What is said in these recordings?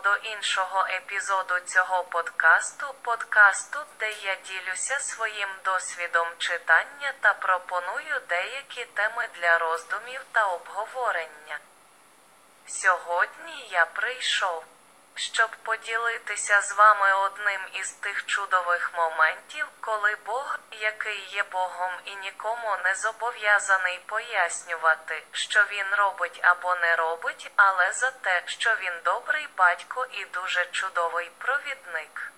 до іншого епізоду цього подкасту, де я ділюся своїм досвідом читання та пропоную деякі теми для роздумів та обговорення. Сьогодні я прийшов, щоб поділитися з вами одним із тих чудових моментів, коли Бог, який є Богом і нікому не зобов'язаний пояснювати, що Він робить або не робить, але за те, що Він добрий батько і дуже чудовий провідник.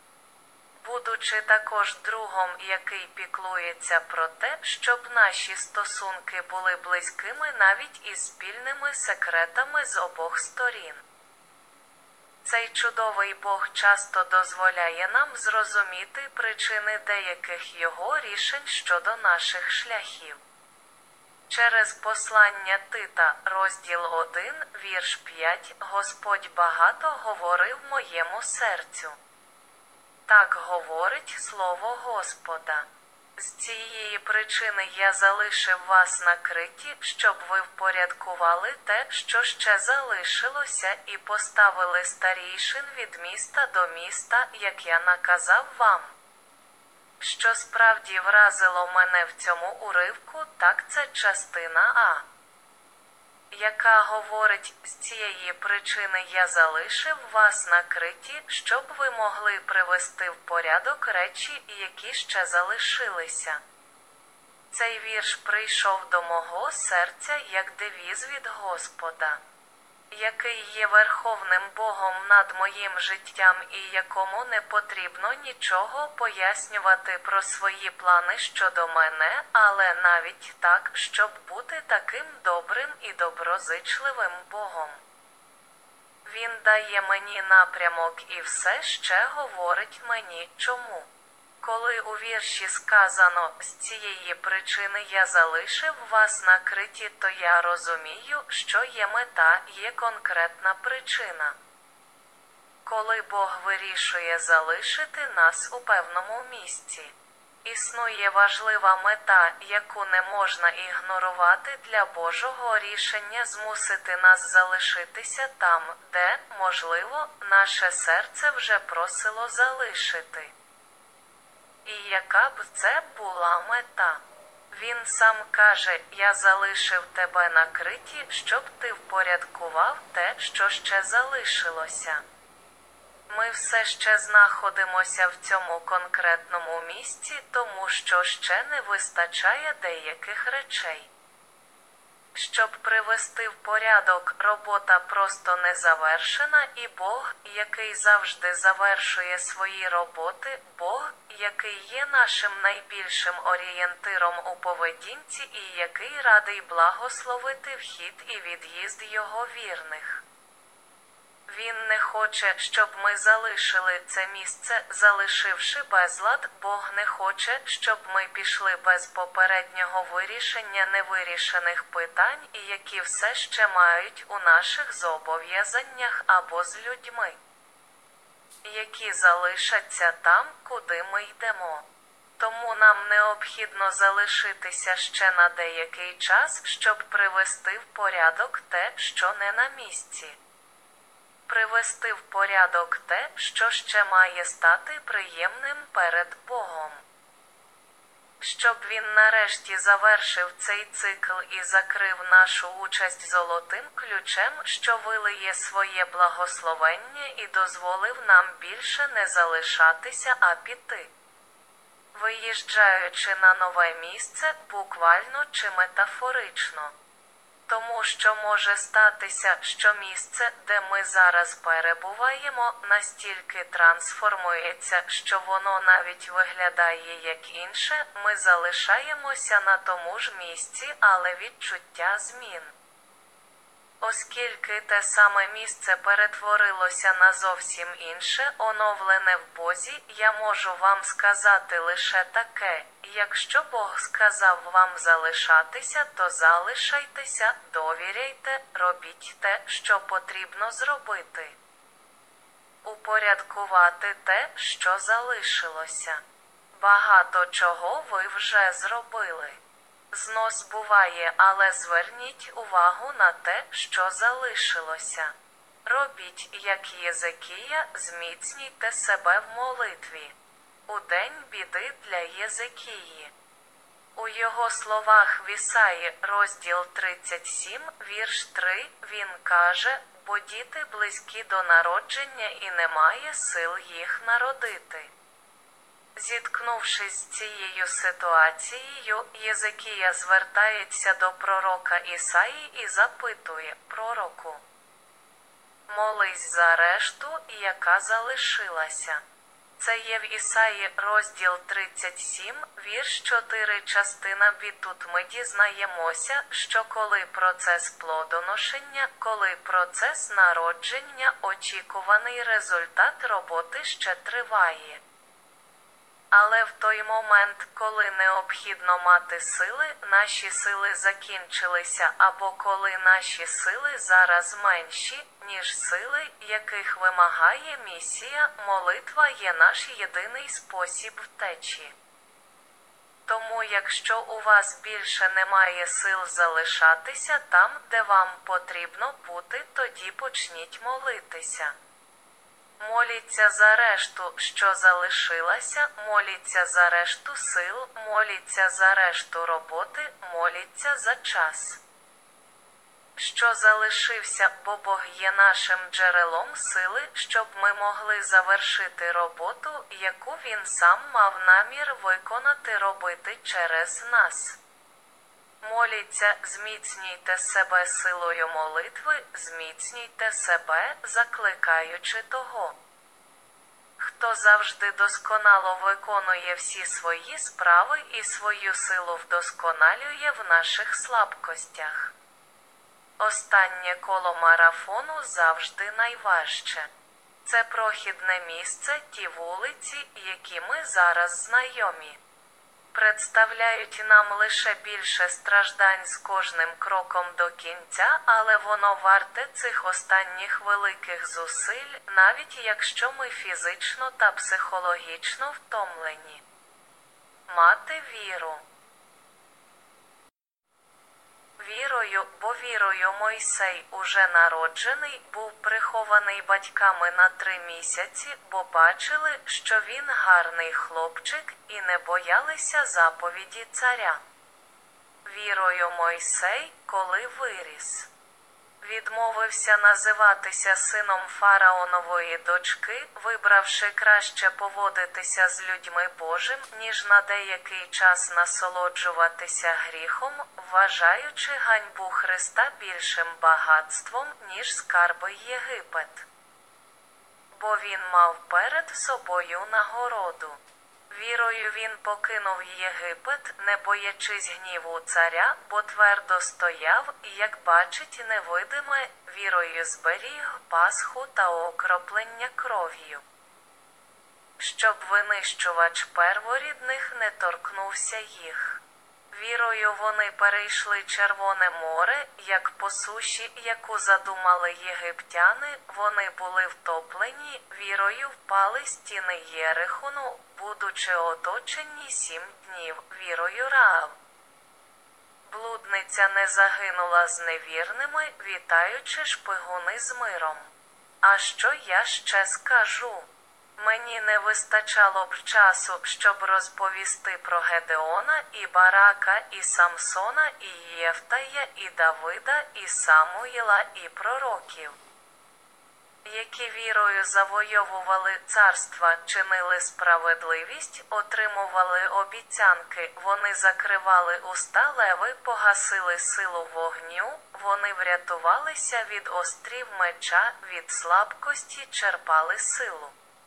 Будучи також другом, який піклується про те, щоб наші стосунки були близькими навіть із спільними секретами з обох сторін. Цей чудовий Бог часто дозволяє нам зрозуміти причини деяких Його рішень щодо наших шляхів. Через послання Тита, розділ 1, вірш 5, Господь багато говорив моєму серцю. Так говорить Слово Господа. З цієї причини я залишив вас на Криті, щоб ви впорядкували те, що ще залишилося, і поставили старійшин від міста до міста, як я наказав вам. Що справді вразило мене в цьому уривку, так це частина А, яка говорить: з цієї причини я залишив вас на Криті, щоб ви могли привести в порядок речі, які ще залишилися. Цей вірш прийшов до мого серця як девіз від Господа, який є верховним Богом над моїм життям і якому не потрібно нічого пояснювати про свої плани щодо мене, але навіть так, щоб бути таким добрим і доброзичливим Богом. Він дає мені напрямок і все ще говорить мені, чому. Коли у вірші сказано «з цієї причини я залишив вас на Криті», то я розумію, що є мета, є конкретна причина. Коли Бог вирішує залишити нас у певному місці, існує важлива мета, яку не можна ігнорувати для Божого рішення змусити нас залишитися там, де, можливо, наше серце вже просило залишити. І яка б це була мета? Він сам каже: «Я залишив тебе на Криті, щоб ти впорядкував те, що ще залишилося». Ми все ще знаходимося в цьому конкретному місці, тому що ще не вистачає деяких речей. Щоб привести в порядок, робота просто не завершена, і Бог, який завжди завершує свої роботи, Бог, який є нашим найбільшим орієнтиром у поведінці і який радий благословити вхід і від'їзд Його вірних. Він не хоче, щоб ми залишили це місце, залишивши безлад. Бог не хоче, щоб ми пішли без попереднього вирішення невирішених питань, і які все ще мають у наших зобов'язаннях або з людьми, які залишаться там, куди ми йдемо. Тому нам необхідно залишитися ще на деякий час, щоб привести в порядок те, що не на місці. Привести в порядок те, що ще має стати приємним перед Богом. Щоб Він нарешті завершив цей цикл і закрив нашу участь золотим ключем, що вилиє своє благословення і дозволив нам більше не залишатися, а піти. Виїжджаючи на нове місце, буквально чи метафорично. Тому що може статися, що місце, де ми зараз перебуваємо, настільки трансформується, що воно навіть виглядає як інше, ми залишаємося на тому ж місці, але відчуття змін. Оскільки те саме місце перетворилося на зовсім інше, оновлене в Бозі, я можу вам сказати лише таке: якщо Бог сказав вам залишатися, то залишайтеся, довіряйте, робіть те, що потрібно зробити. Упорядкувати те, що залишилося. Багато чого ви вже зробили. Знос буває, але зверніть увагу на те, що залишилося. Робіть, як Єзекія, зміцнійте себе в молитві. У день біди для Єзекії. У його словах в Ісаї, розділ 37, вірш 3, він каже: «Бо діти близькі до народження і немає сил їх народити». Зіткнувшись з цією ситуацією, Єзекія звертається до пророка Ісаї і запитує: «Пророку, молись за решту, яка залишилася». Це є в Ісаї, розділ 37, вірш 4, частина Б. Тут ми дізнаємося, що коли процес плодоношення, коли процес народження, очікуваний результат роботи ще триває. Але в той момент, коли необхідно мати сили, наші сили закінчилися, або коли наші сили зараз менші, ніж сили, яких вимагає місія, молитва є наш єдиний спосіб втечі. Тому якщо у вас більше немає сил залишатися там, де вам потрібно бути, тоді почніть молитися. Моліться за решту, що залишилася, моліться за решту сил, моліться за решту роботи, моліться за час, що залишився, бо Бог є нашим джерелом сили, щоб ми могли завершити роботу, яку Він сам мав намір виконати, робити через нас. Моліться, зміцнюйте себе силою молитви, зміцнюйте себе, закликаючи того, хто завжди досконало виконує всі свої справи і свою силу вдосконалює в наших слабкостях. Останнє коло марафону завжди найважче. Це прохідне місце, ті вулиці, які ми зараз знайомі, представляють нам лише більше страждань з кожним кроком до кінця, але воно варте цих останніх великих зусиль, навіть якщо ми фізично та психологічно втомлені. Мати віру. Вірою, бо вірою Мойсей, уже народжений, був прихований батьками на 3 місяці, бо бачили, що він гарний хлопчик, і не боялися заповіді царя. Вірою Мойсей, коли виріс, відмовився називатися сином фараонової дочки, вибравши краще поводитися з людьми Божим, ніж на деякий час насолоджуватися гріхом, вважаючи ганьбу Христа більшим багатством, ніж скарби Єгипет. Бо він мав перед собою нагороду. Вірою він покинув Єгипет, не боячись гніву царя, бо твердо стояв, і, як бачить невидиме, вірою зберіг Пасху та окроплення кров'ю, щоб винищувач перворідних не торкнувся їх. Вірою вони перейшли Червоне море, як по суші, яку задумали єгиптяни, вони були втоплені, вірою впали стіни Єрихону, будучи оточені 7 днів, вірою Раав. Блудниця не загинула з невірними, вітаючи шпигуни з миром. А що я ще скажу? Мені не вистачало б часу, щоб розповісти про Гедеона, і Барака, і Самсона, і Єфтая, і Давида, і Самуїла, і пророків, які вірою завойовували царства, чинили справедливість, отримували обіцянки, вони закривали уста леви, погасили силу вогню, вони врятувалися від острів меча, від слабкості черпали силу.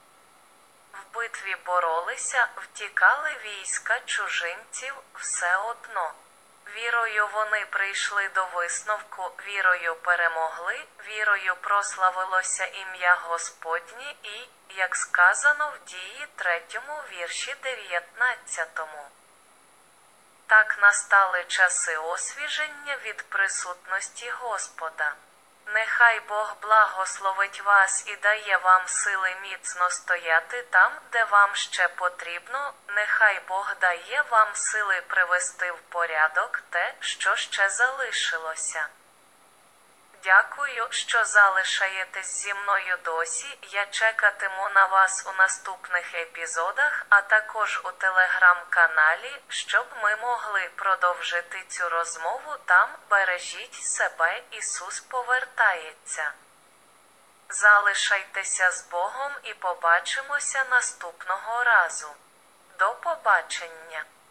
В битві боролися, втікали війська чужинців, все одно. Вірою вони прийшли до висновку, вірою перемогли, вірою прославилося ім'я Господнє і, як сказано в Дії 3 вірші 19. Так настали часи освіження від присутності Господа. Нехай Бог благословить вас і дає вам сили міцно стояти там, де вам ще потрібно, нехай Бог дає вам сили привести в порядок те, що ще залишилося. Дякую, що залишаєтесь зі мною досі. Я чекатиму на вас у наступних епізодах, а також у телеграм-каналі, щоб ми могли продовжити цю розмову там. Бережіть себе, Ісус повертається. Залишайтеся з Богом і побачимося наступного разу. До побачення!